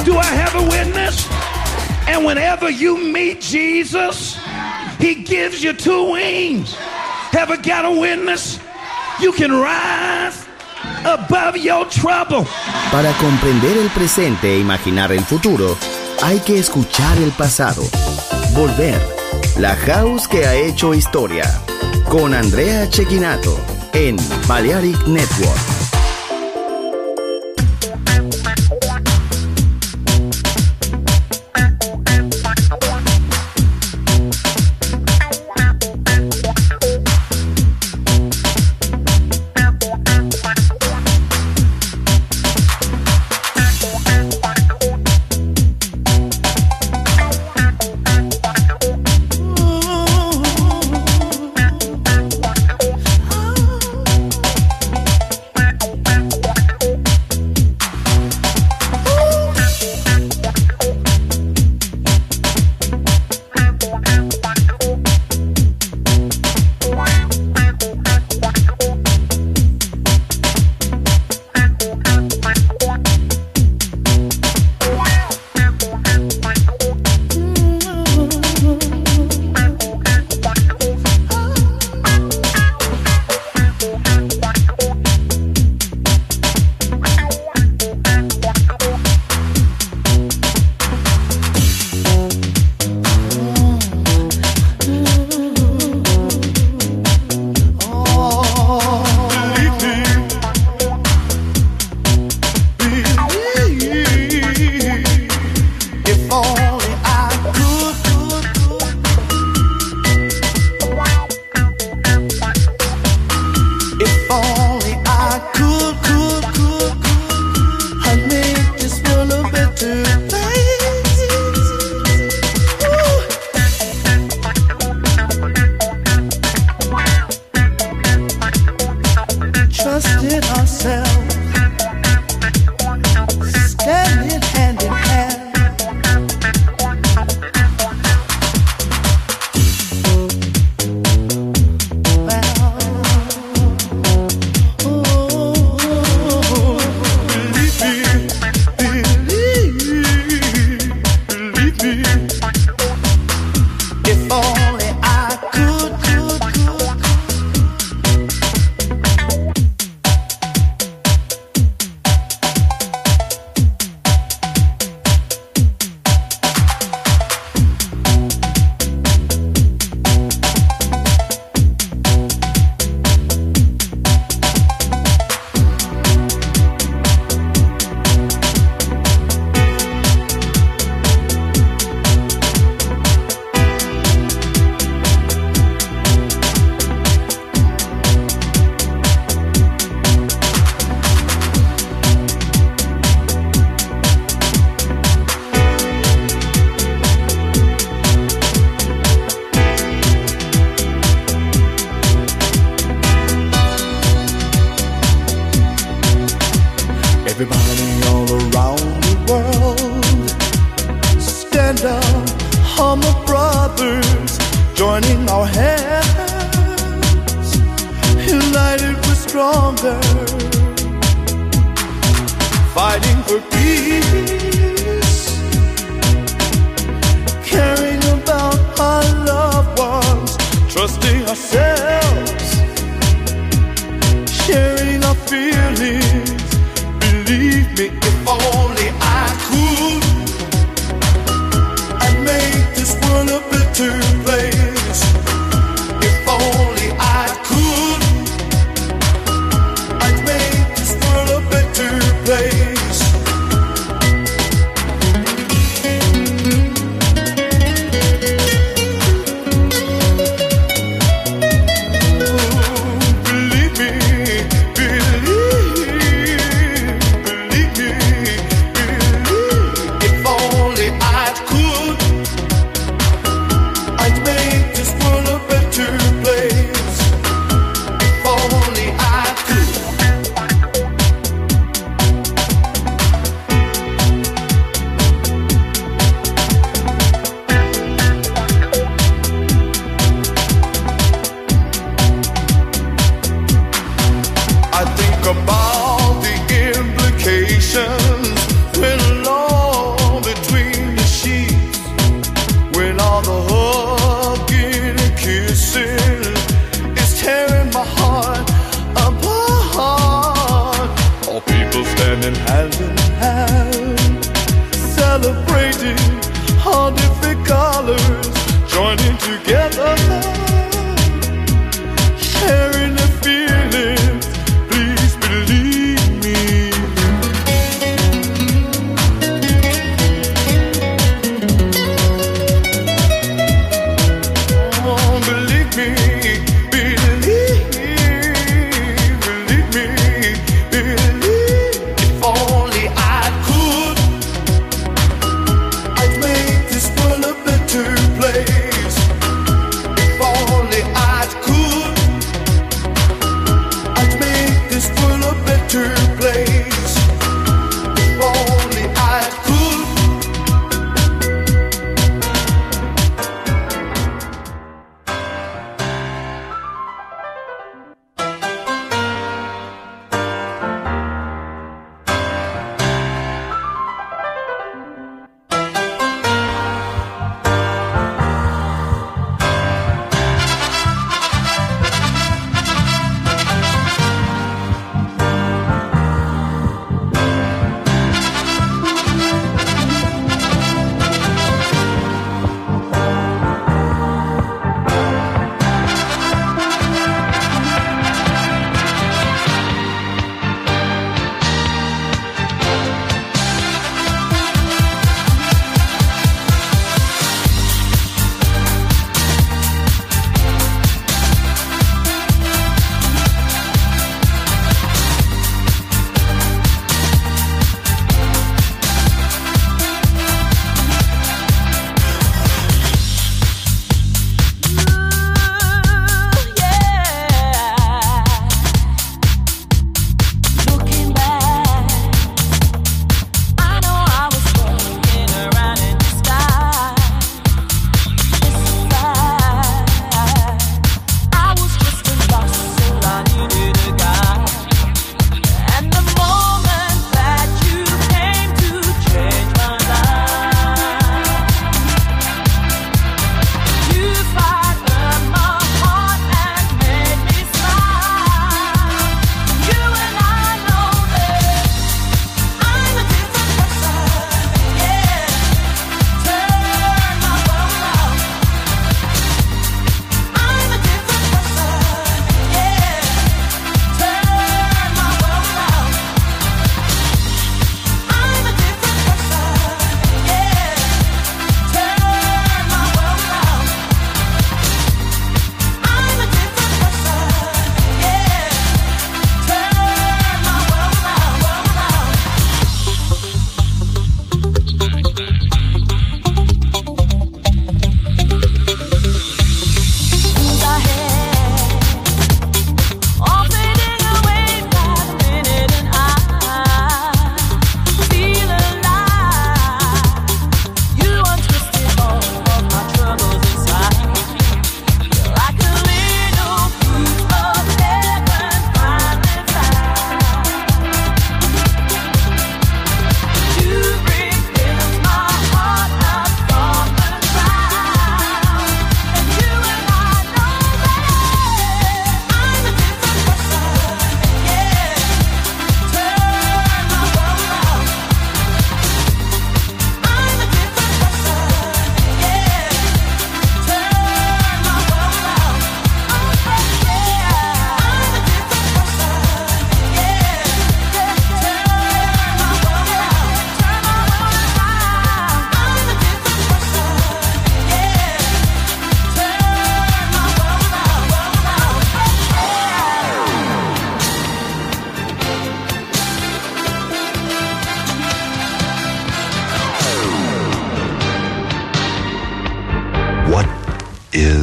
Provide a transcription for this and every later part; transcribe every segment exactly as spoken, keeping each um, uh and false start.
Do I have a witness? And whenever you meet Jesus, he gives you two wings. Have I got a witness? You can rise above your trouble. Para comprender el presente e imaginar el futuro, hay que escuchar el pasado. Volver. La house que ha hecho historia. Con Andrea Cecchinato en Balearic Network.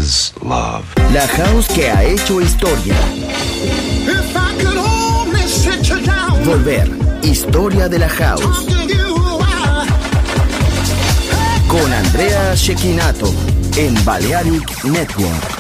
is love. La house que ha hecho historia. If I could only sit you down. Volver. Historia de la house. Talk to you, I- Con Andrea Cecchinato en Balearic Network.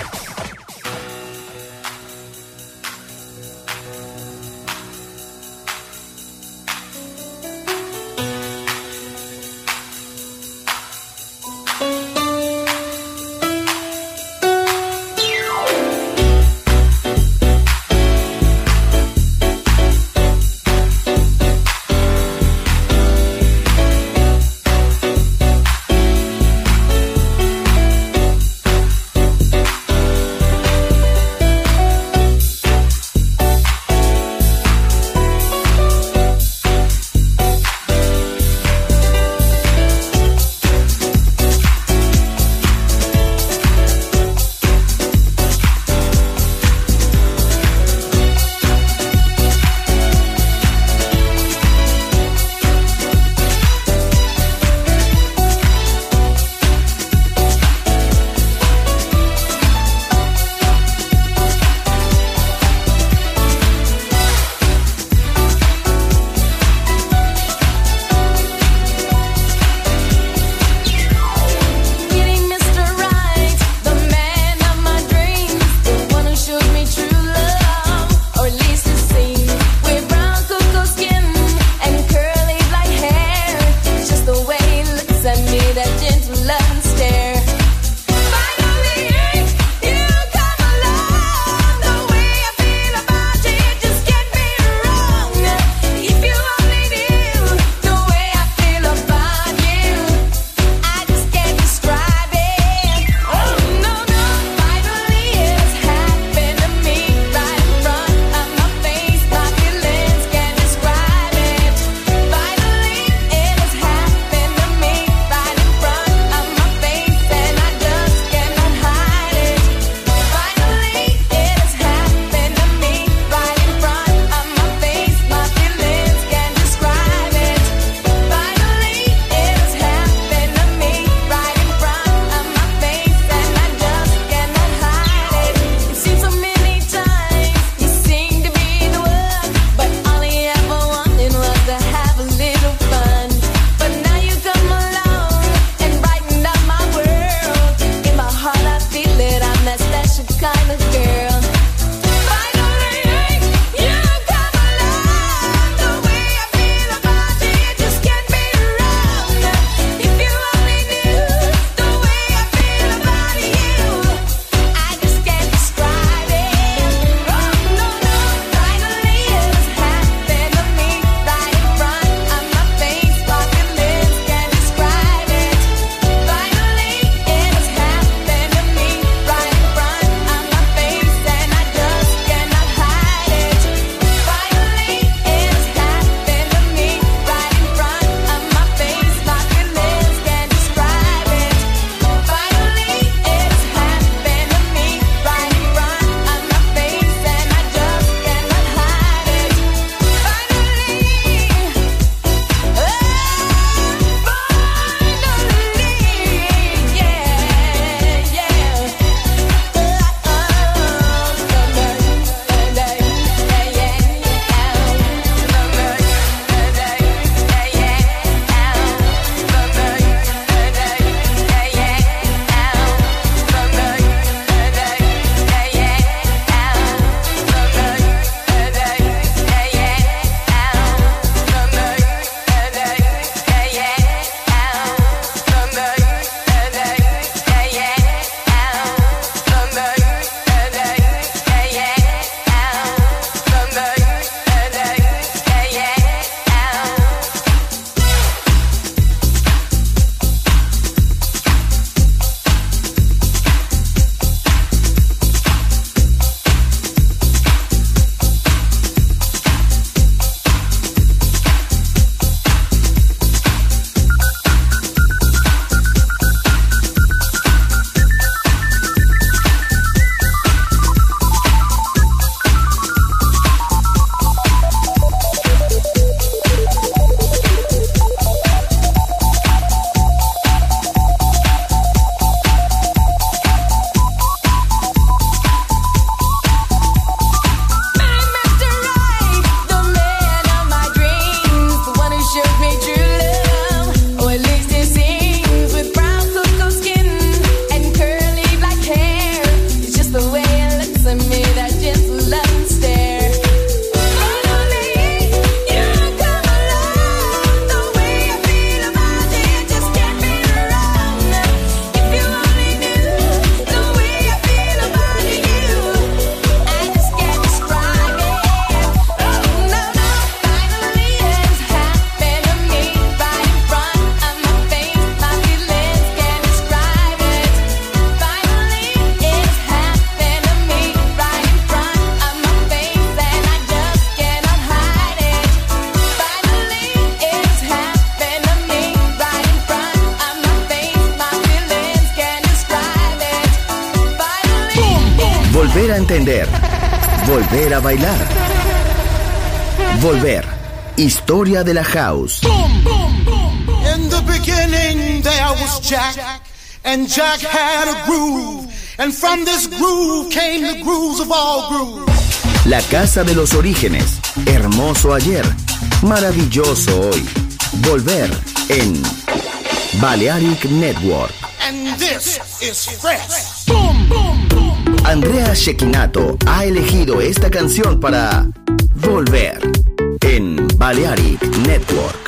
a entender, volver a bailar. Volver. Historia de la house. Boom, boom, boom. In the beginning there was Jack, and Jack had a groove, and from this groove came the grooves of all grooves. La casa de los orígenes. Hermoso ayer, maravilloso hoy. Volver en Balearic Network. And this is fresh. Boom, boom, boom. Andrea Cecchinato ha elegido esta canción para Volver en Balearic Network.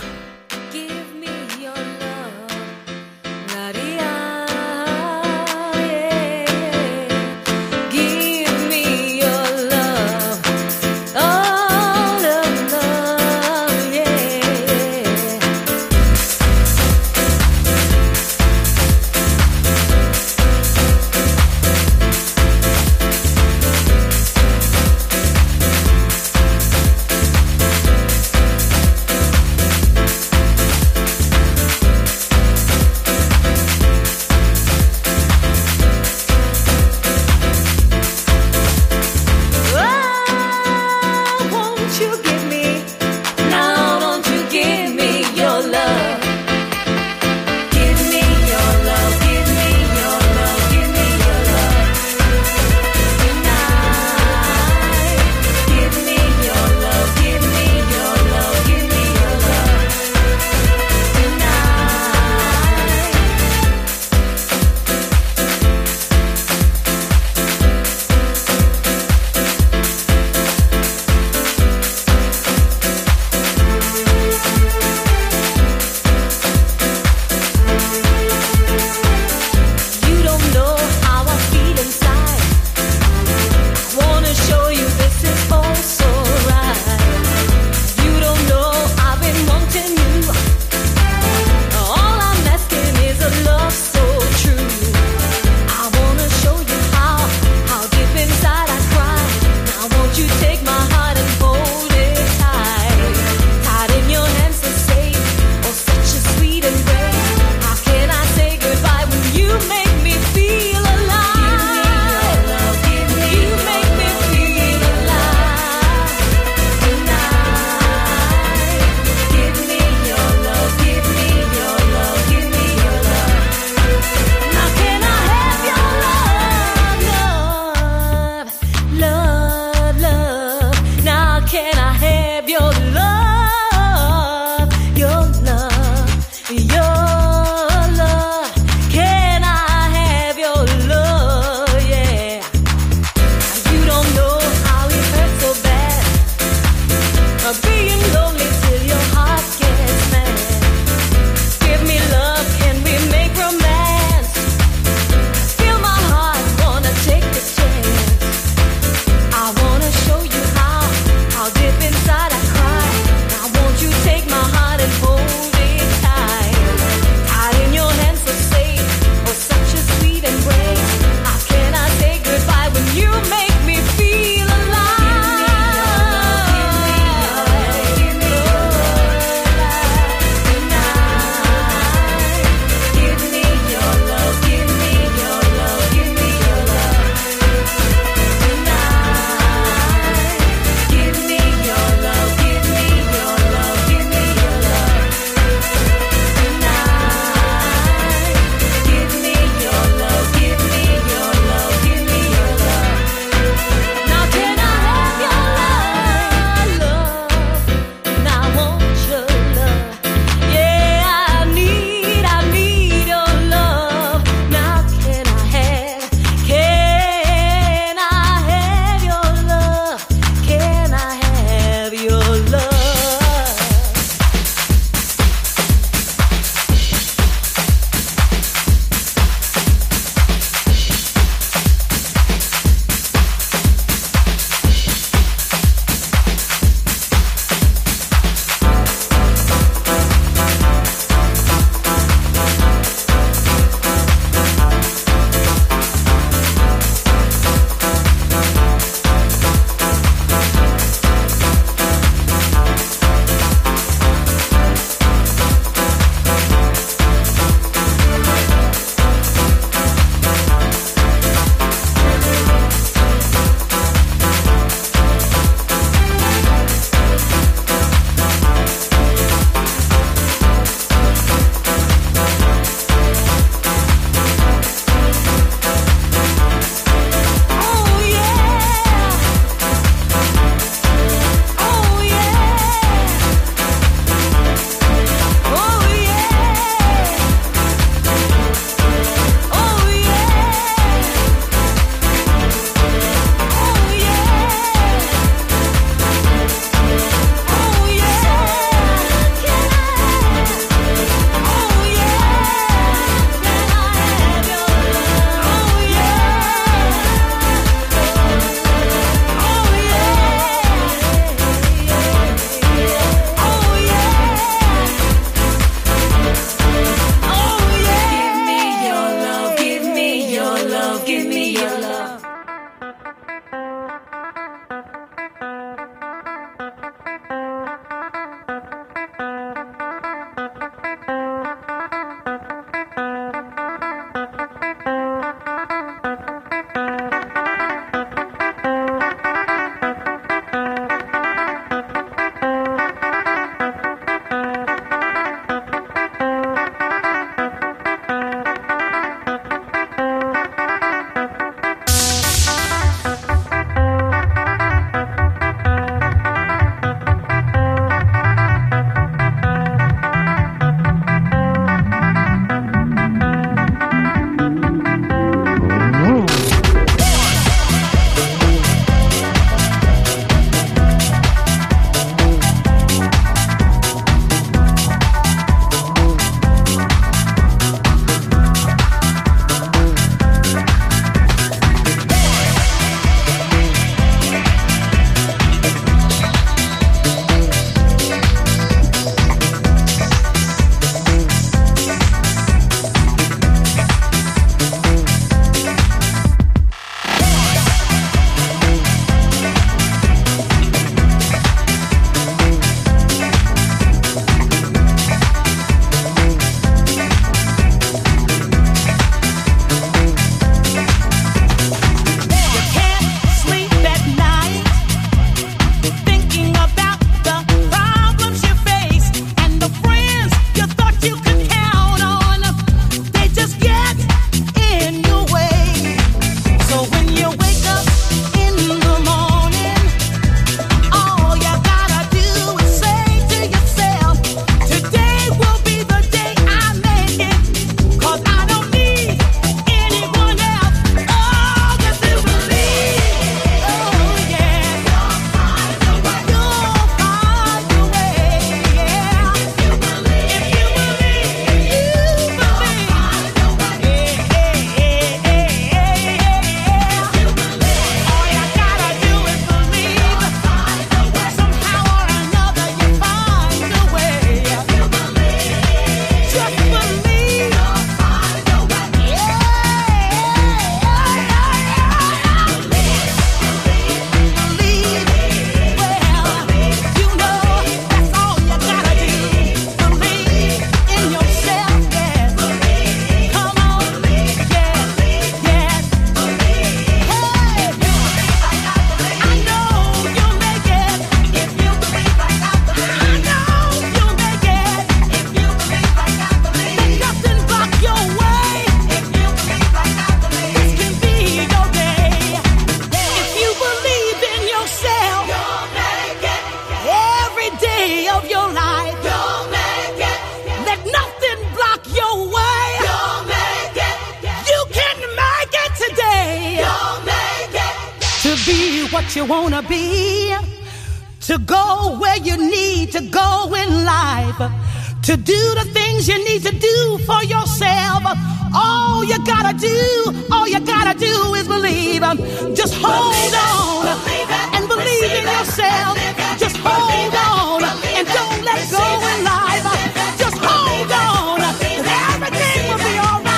you wanna be, to go where you need to go in life, to do the things you need to do for yourself. All you gotta do, all you gotta do is believe. Just hold on and believe in yourself. Just hold on and don't let go in life. Just hold on, and everything will be all right.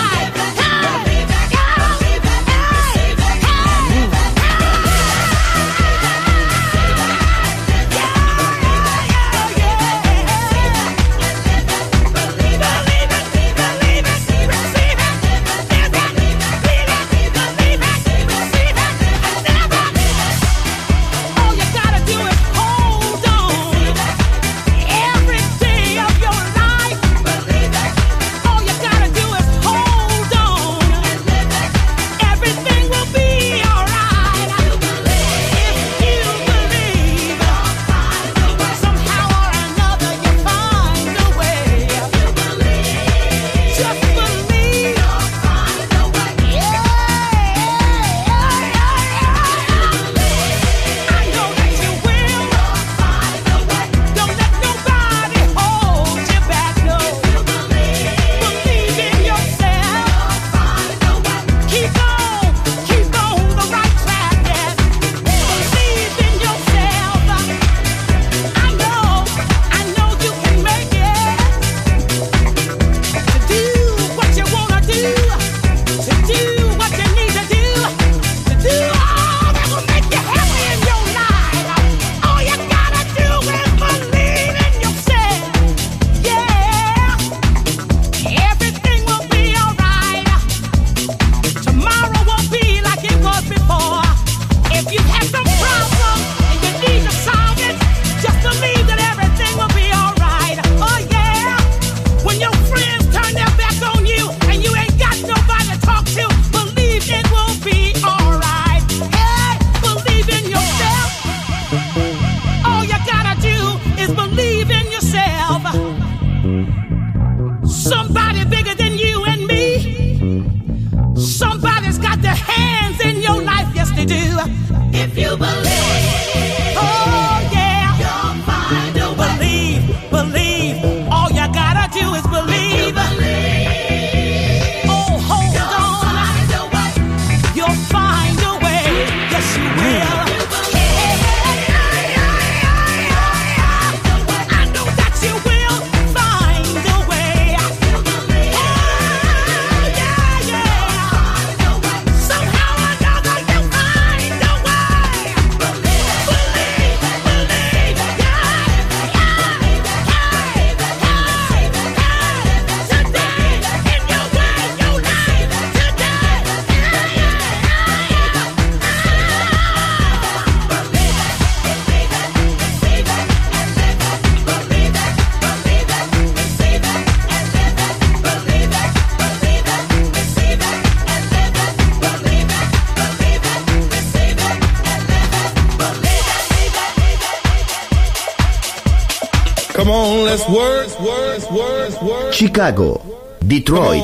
Chicago, Detroit,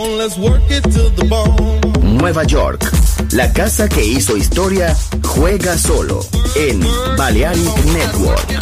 Nueva York. La casa que hizo historia juega solo en Balearic Network.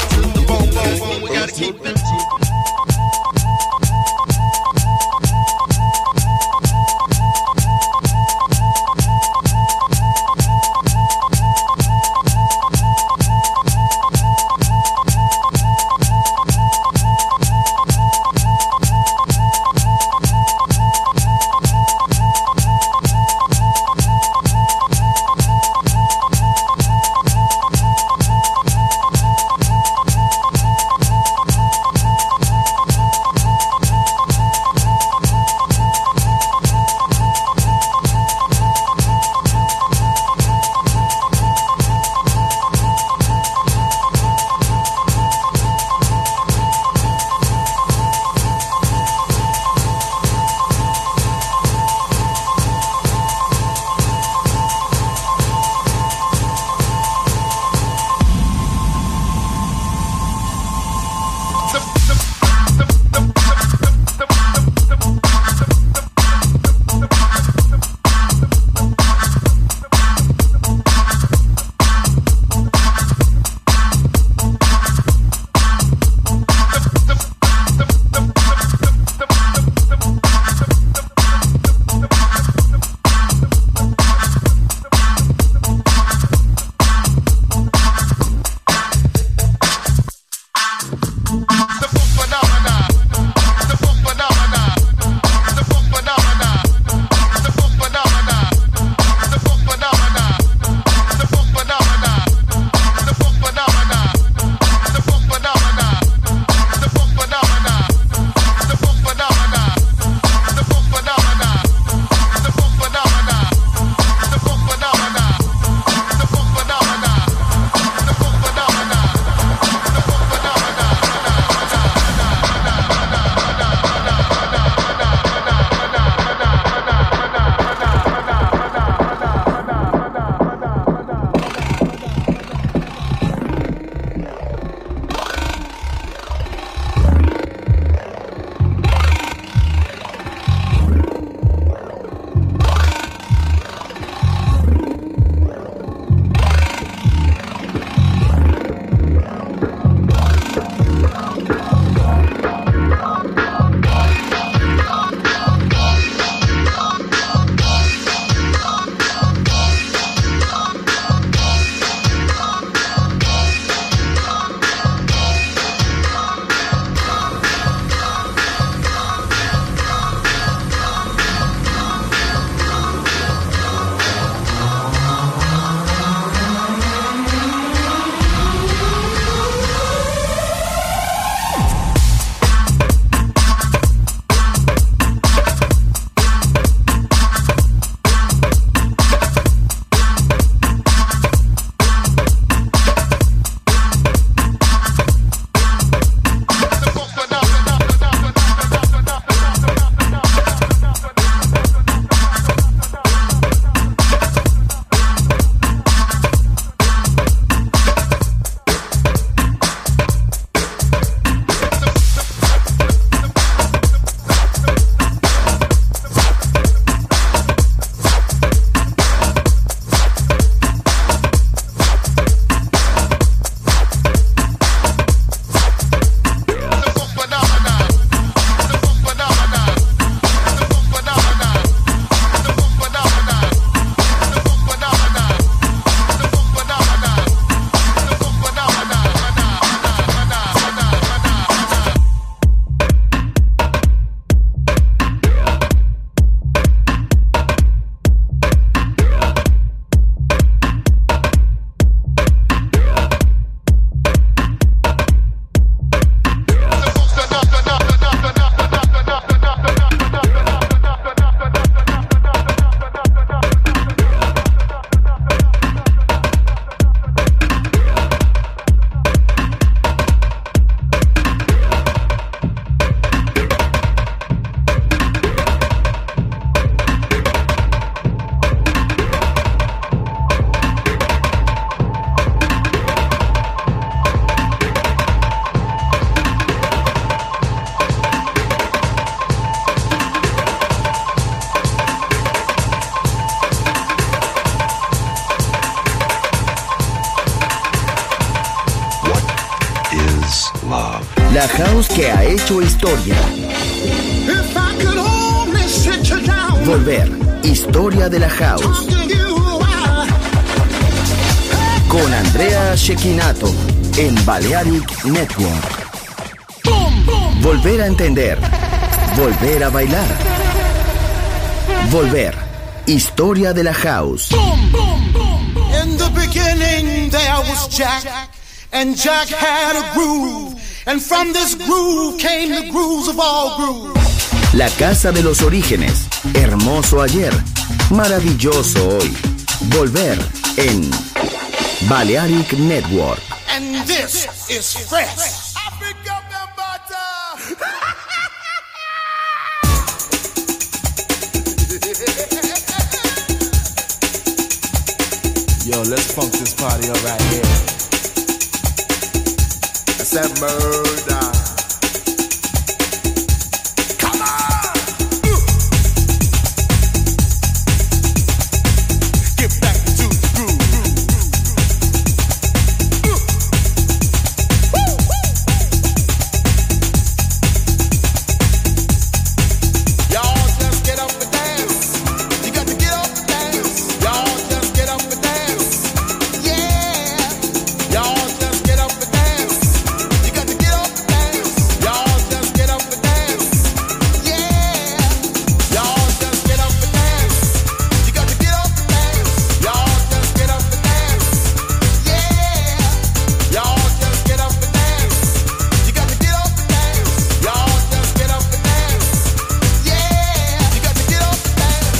La house que ha hecho historia. If I could only sit you down. Volver. Historia de la house. Talk to you, I- Con Andrea Cecchinato en Balearic Network. Volver a entender. Volver a bailar. Volver. Historia de la house. In the beginning there was Jack, and Jack had a groove, and from this groove came the grooves of all grooves. La casa de los orígenes. Hermoso ayer. Maravilloso hoy. Volver en Balearic Network. And this is fresh. Yo, let's funk this party up right here. That's that murder. Come on! Get back to the groove. Y'all just get up and dance. You got to get up and dance. Y'all just get up and dance. Y'all just get up and dance. You got to get up and dance. Y'all just get up and dance. Yeah. Y'all just get up and dance. You got to get up and dance. Y'all just get up and dance. Yeah. Y'all just get up and dance. You got to get up and dance. Y'all just get up and dance. Yeah. You got to get up and dance.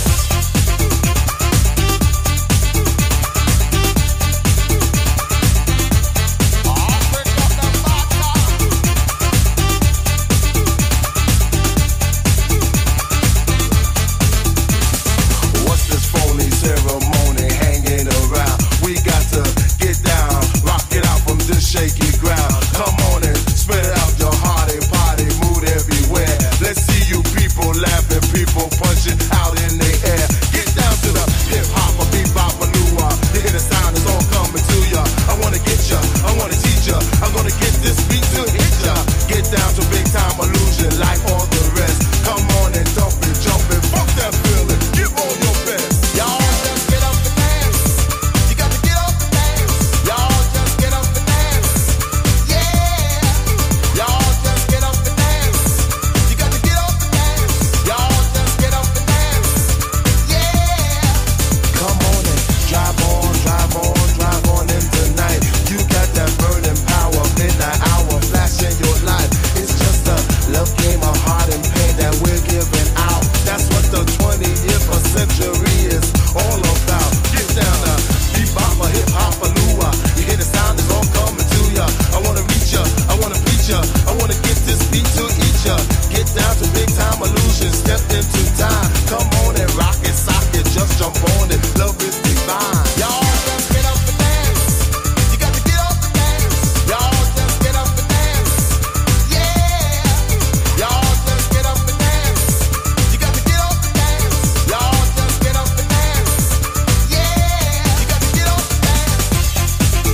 What's this phony ceremony hanging around? We got to get down, rock it out from this shaky ground. Come on and spread out your hearty party mood everywhere. Let's see you people laughing, people punching out in the air. Get down to the hip hop, a bebop, a new one. You hear the sound, it's all coming to ya. I wanna get ya, I wanna teach ya. I'm gonna get this beat to hit ya. Get down to big time illusion like all the rest. Come on and dump it, jump it, fuck that feeling. Give all your best. Y'all just get up and dance. You got to get up and dance. Y'all just get up and dance. Yeah. Y'all just get up and dance. You got to get up and dance. Y'all just get up and dance. Yeah. Come on and drive on, drive on, drive on in tonight. You got that burning power, midnight hour, flash in your life. It's just a love game of heart and pain that we're giving out. That's what the twentieth century is all about. Get down to bebop, a hip hop, a lua. You hear the sound, it's all coming to ya. I wanna reach ya, I wanna preach ya. I wanna get this beat to eat ya. Get down to big time illusion, step into time. Come on and rock it, sock it, just jump on it. Love is divine. Y'all just get up and dance. You got to get up and dance. Y'all just get up and dance. Yeah. Y'all just get up and dance. You got to get up and dance. Y'all just get up and dance. Yeah. You got to get up and dance.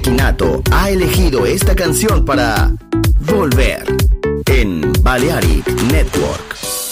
Shekinato ha elegido esta canción para volver en Balearic Network.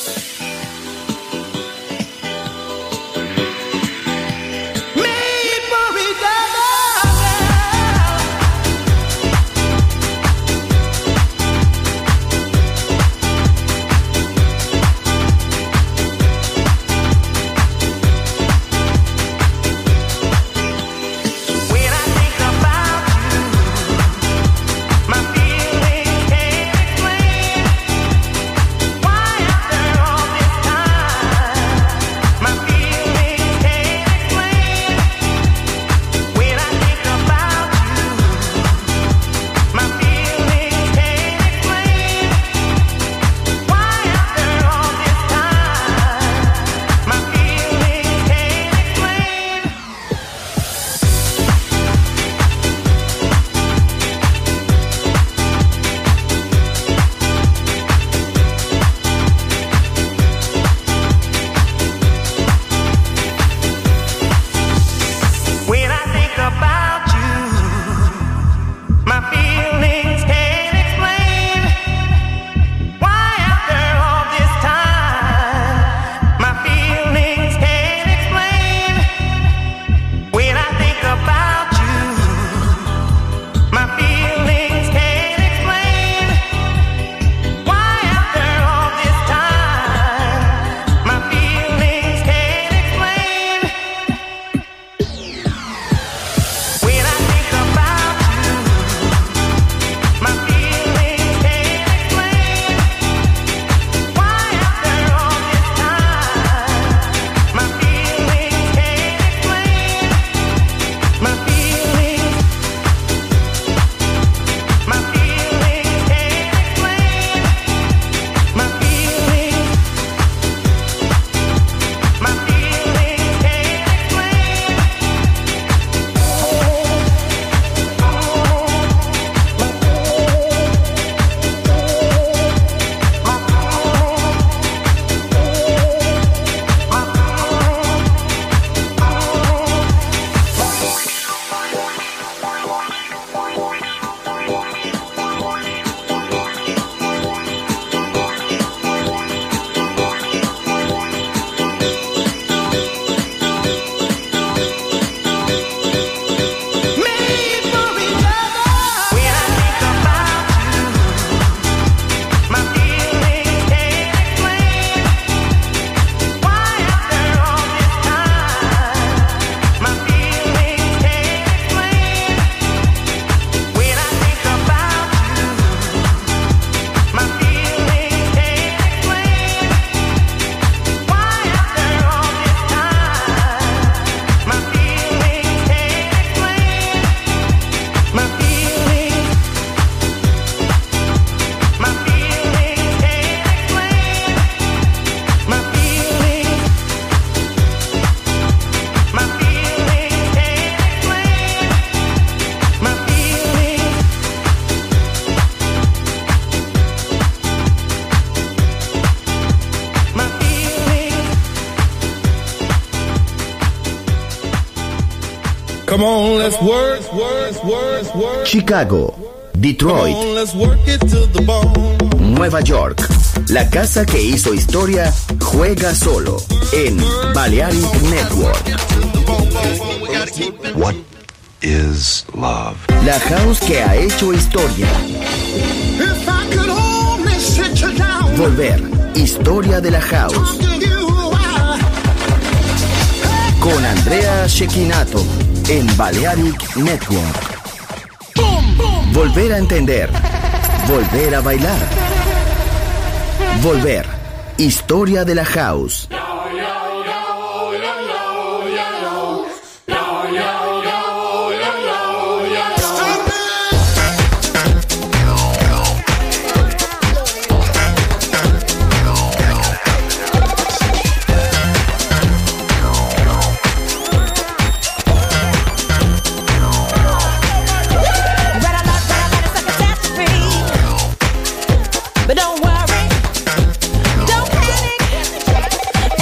Come on, let's work, work, work, work. Chicago, Detroit, Come on, let's work it to the bone. Nueva York. La casa que hizo historia juega solo en Balearic Network. What is love? La house que ha hecho historia. If I could only sit you down. Volver, historia de la house. Con Andrea Shekinato en Balearic Network. Volver a entender. Volver a bailar. Volver, historia de la house. But don't worry, don't panic.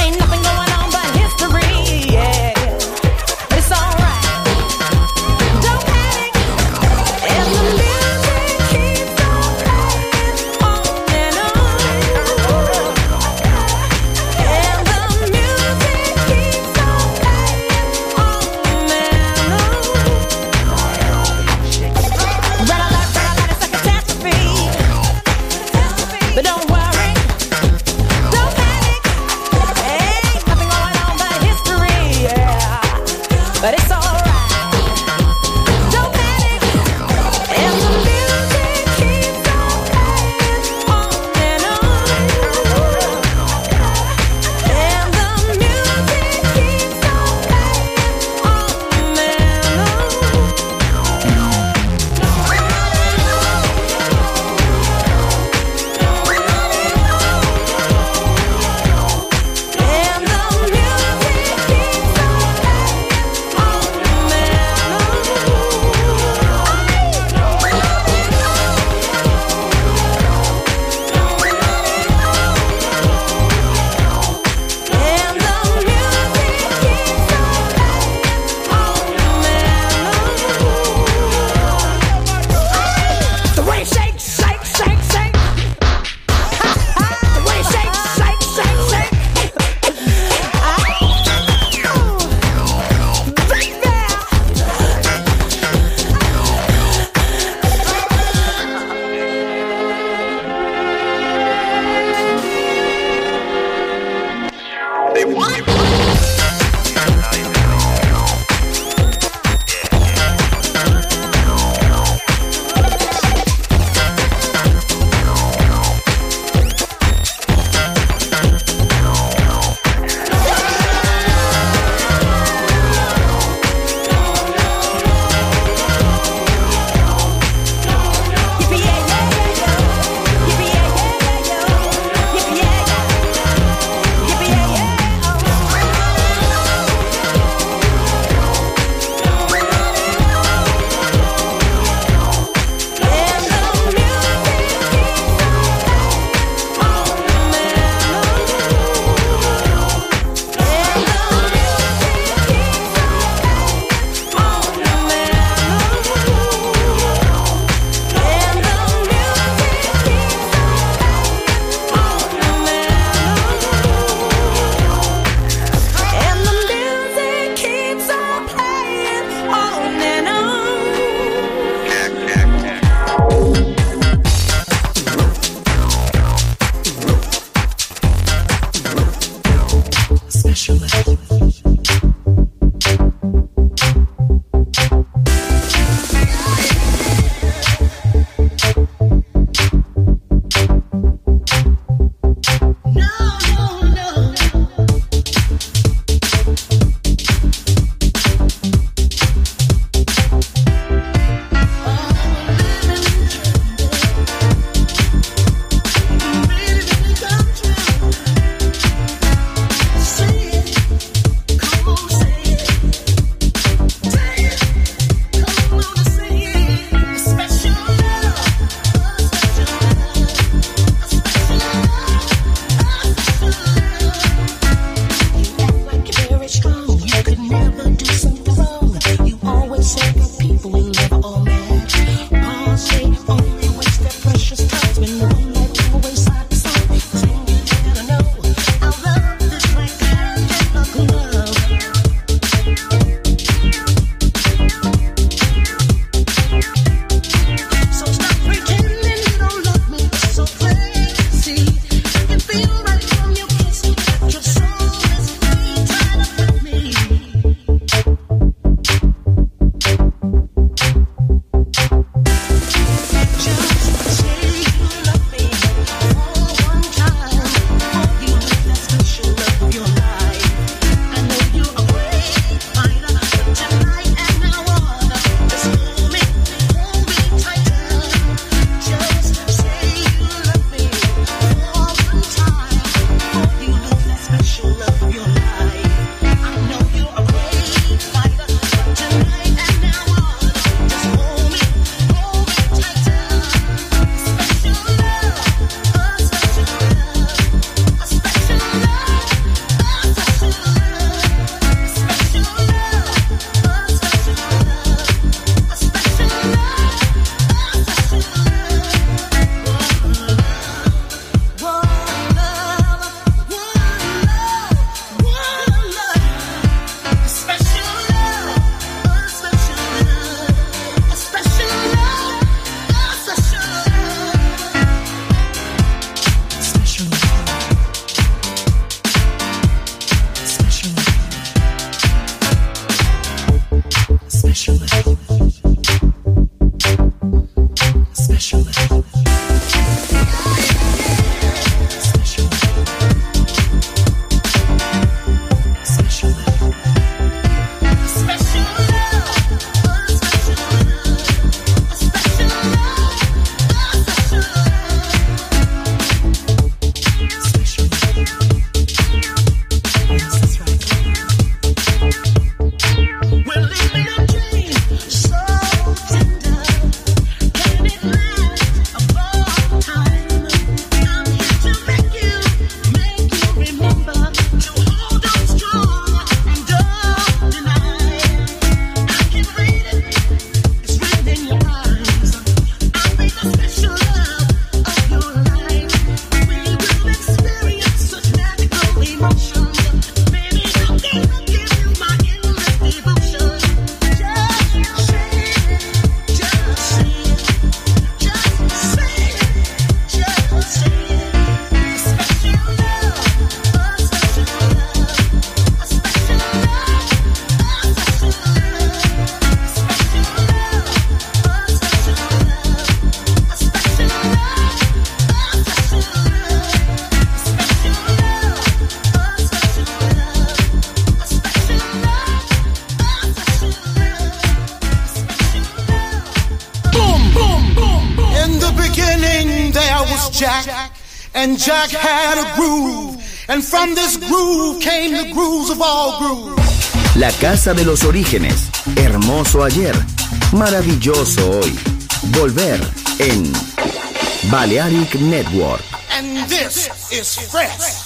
and Jack had a groove, and from this groove came the grooves of all grooves. La casa de los orígenes, hermoso ayer, maravilloso hoy. Volver en Balearic Network. And this is fresh.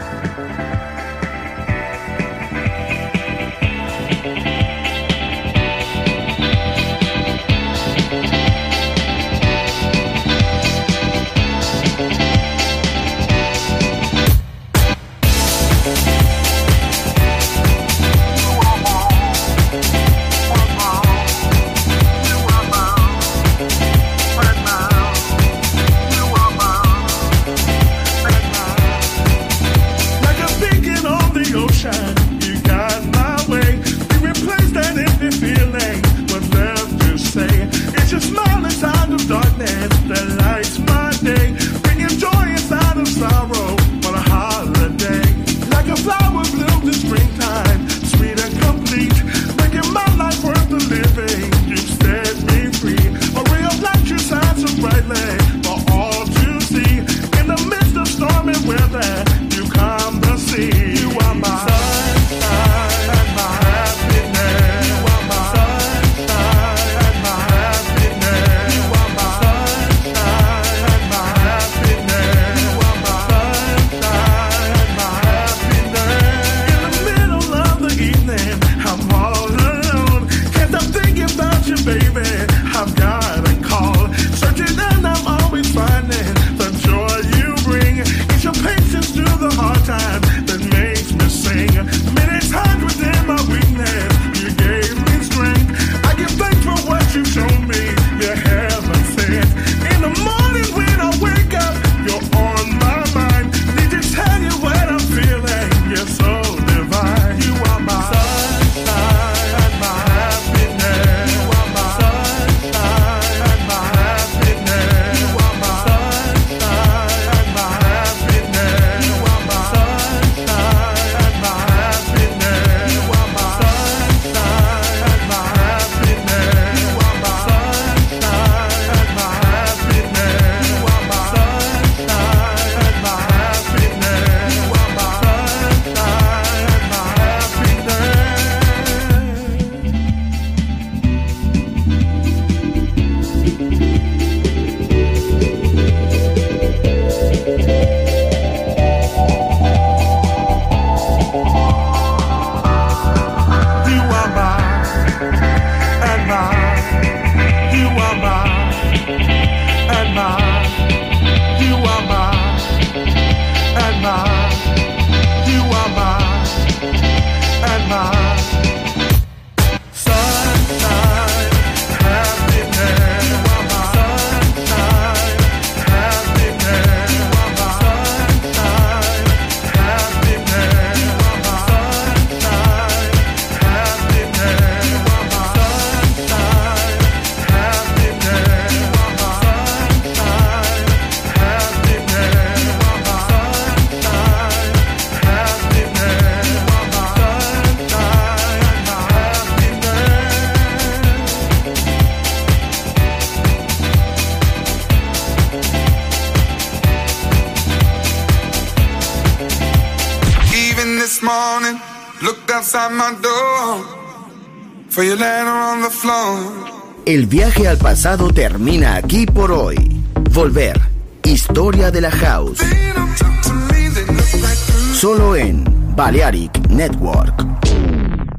El viaje al pasado termina aquí por hoy. Volver. Historia de la House. Solo en Balearic Network.